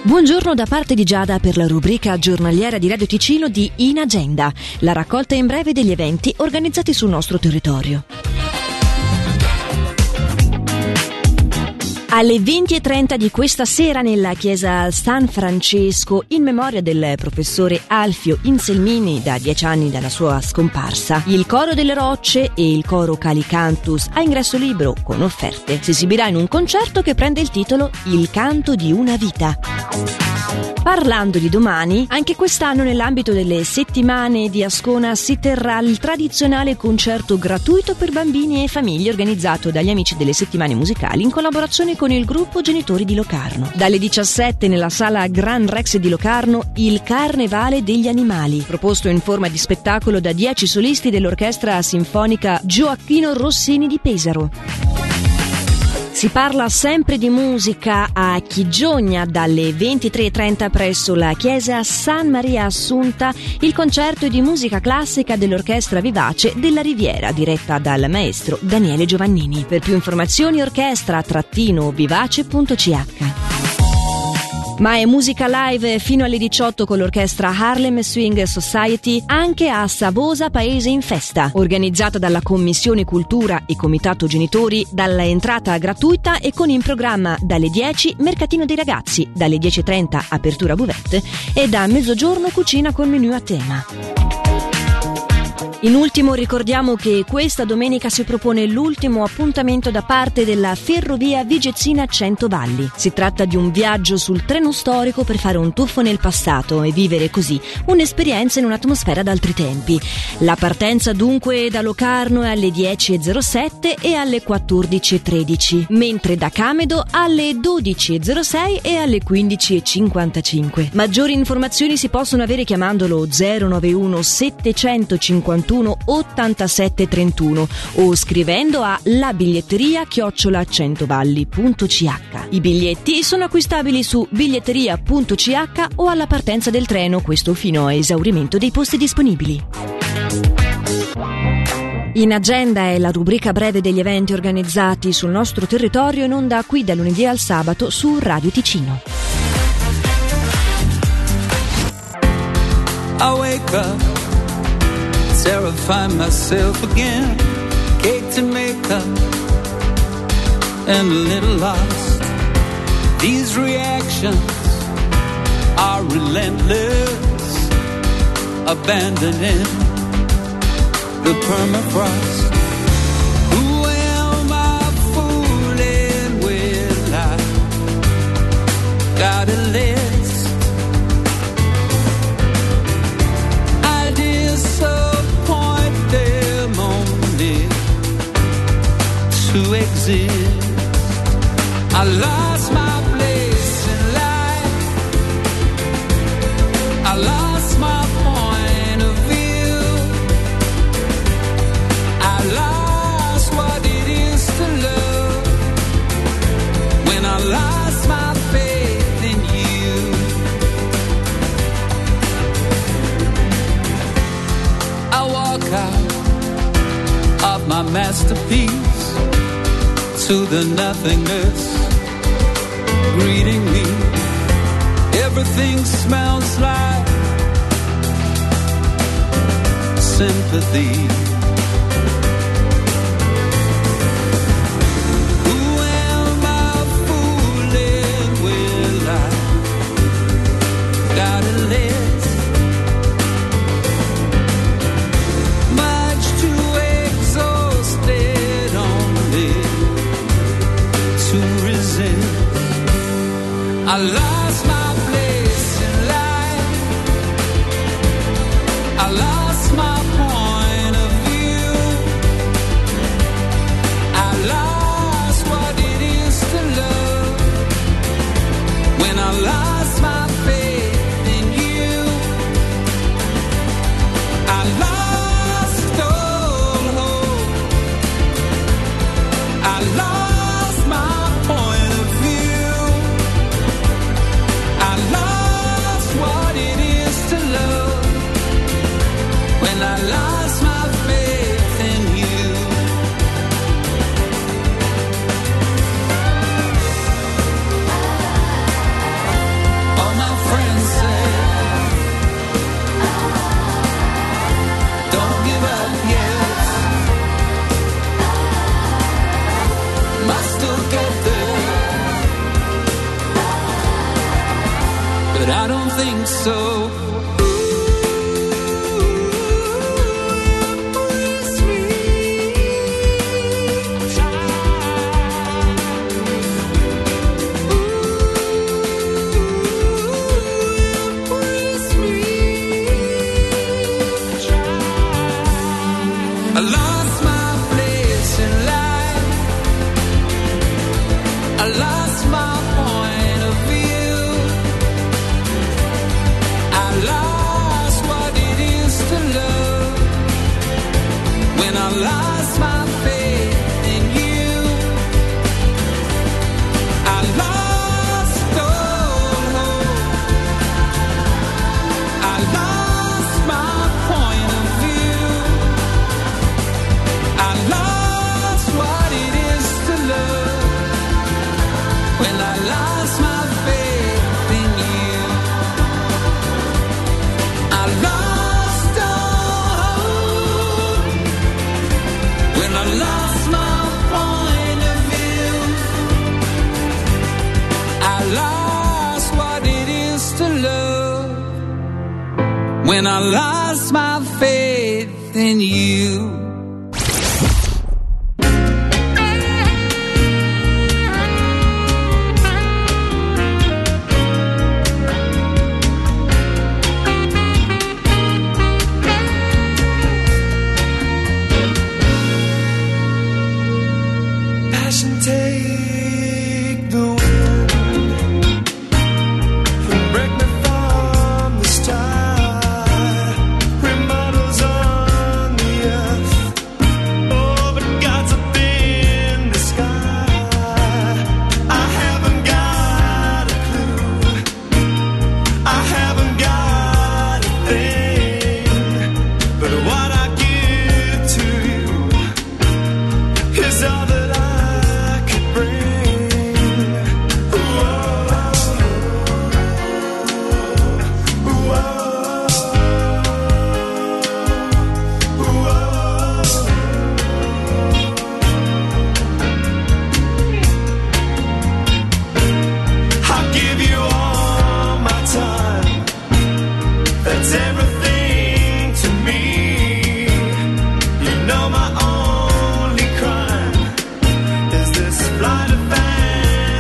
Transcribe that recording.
Buongiorno da parte di Giada per la rubrica giornaliera di Radio Ticino di In Agenda, la raccolta in breve degli eventi organizzati sul nostro territorio. Alle 20:30 di questa sera nella chiesa San Francesco, in memoria del professore Alfio Inselmini, da 10 anni dalla sua scomparsa, il coro delle rocce e il coro Calicantus a ingresso libero con offerte si esibirà in un concerto che prende il titolo Il canto di una vita. Parlando di domani, anche quest'anno nell'ambito delle settimane di Ascona si terrà il tradizionale concerto gratuito per bambini e famiglie organizzato dagli amici delle settimane musicali in collaborazione con il gruppo Genitori di Locarno. Dalle 17 nella sala Gran Rex di Locarno il Carnevale degli Animali, proposto in forma di spettacolo da 10 solisti dell'orchestra sinfonica Gioacchino Rossini di Pesaro. Si parla sempre di musica a Chigiogna dalle 23:30 presso la chiesa San Maria Assunta, il concerto di musica classica dell'Orchestra Vivace della Riviera diretta dal maestro Daniele Giovannini. Per più informazioni orchestra-vivace.ch. Ma è musica live fino alle 18 con l'orchestra Harlem Swing Society anche a Savosa Paese in Festa, organizzata dalla Commissione Cultura e Comitato Genitori, dalla entrata gratuita e con in programma dalle 10 Mercatino dei Ragazzi, dalle 10:30 apertura buvette e da mezzogiorno cucina con menù a tema. In ultimo ricordiamo che questa domenica si propone l'ultimo appuntamento da parte della Ferrovia Vigezzina Centovalli. Si tratta di un viaggio sul treno storico per fare un tuffo nel passato e vivere così un'esperienza in un'atmosfera d'altri tempi. La partenza dunque da Locarno è alle 10:07 e alle 14:13, mentre da Camedo alle 12:06 e alle 15:55. Maggiori informazioni si possono avere chiamandolo 091 751 8731 o scrivendo a labiglietteria@centovalli.ch. I biglietti sono acquistabili su biglietteria.ch o alla partenza del treno, questo fino a esaurimento dei posti disponibili. In Agenda è la rubrica breve degli eventi organizzati sul nostro territorio in onda qui da lunedì al sabato su Radio Ticino. I wake up, terrify myself again, cake to make up, and a little lost. These reactions are relentless, abandoning the permafrost. Who am I fooling with? I got a list. To exist, I lost my place in life, I lost my point of view, I lost what it is to love, when I lost my faith in you. I walk out of my masterpiece to the nothingness greeting me. Everything smells like sympathy. Who am I fooling with? I got a list, much too exhausted only to resist. I lost my place in life, I lost my point of view, I lost what it is to love, when I lost my faith in you, I lost all hope, I lost my point of view, but I don't think so. I lost my place in life. I lost my point of view. I lost what it is to love. When I lost my faith in you, I lost all hope. I lost my point of view. I lost what it is to love. When I lost my faith in you, I lost all hope. When I lost my point of view, I lost what it is to love. When I lost my faith in you.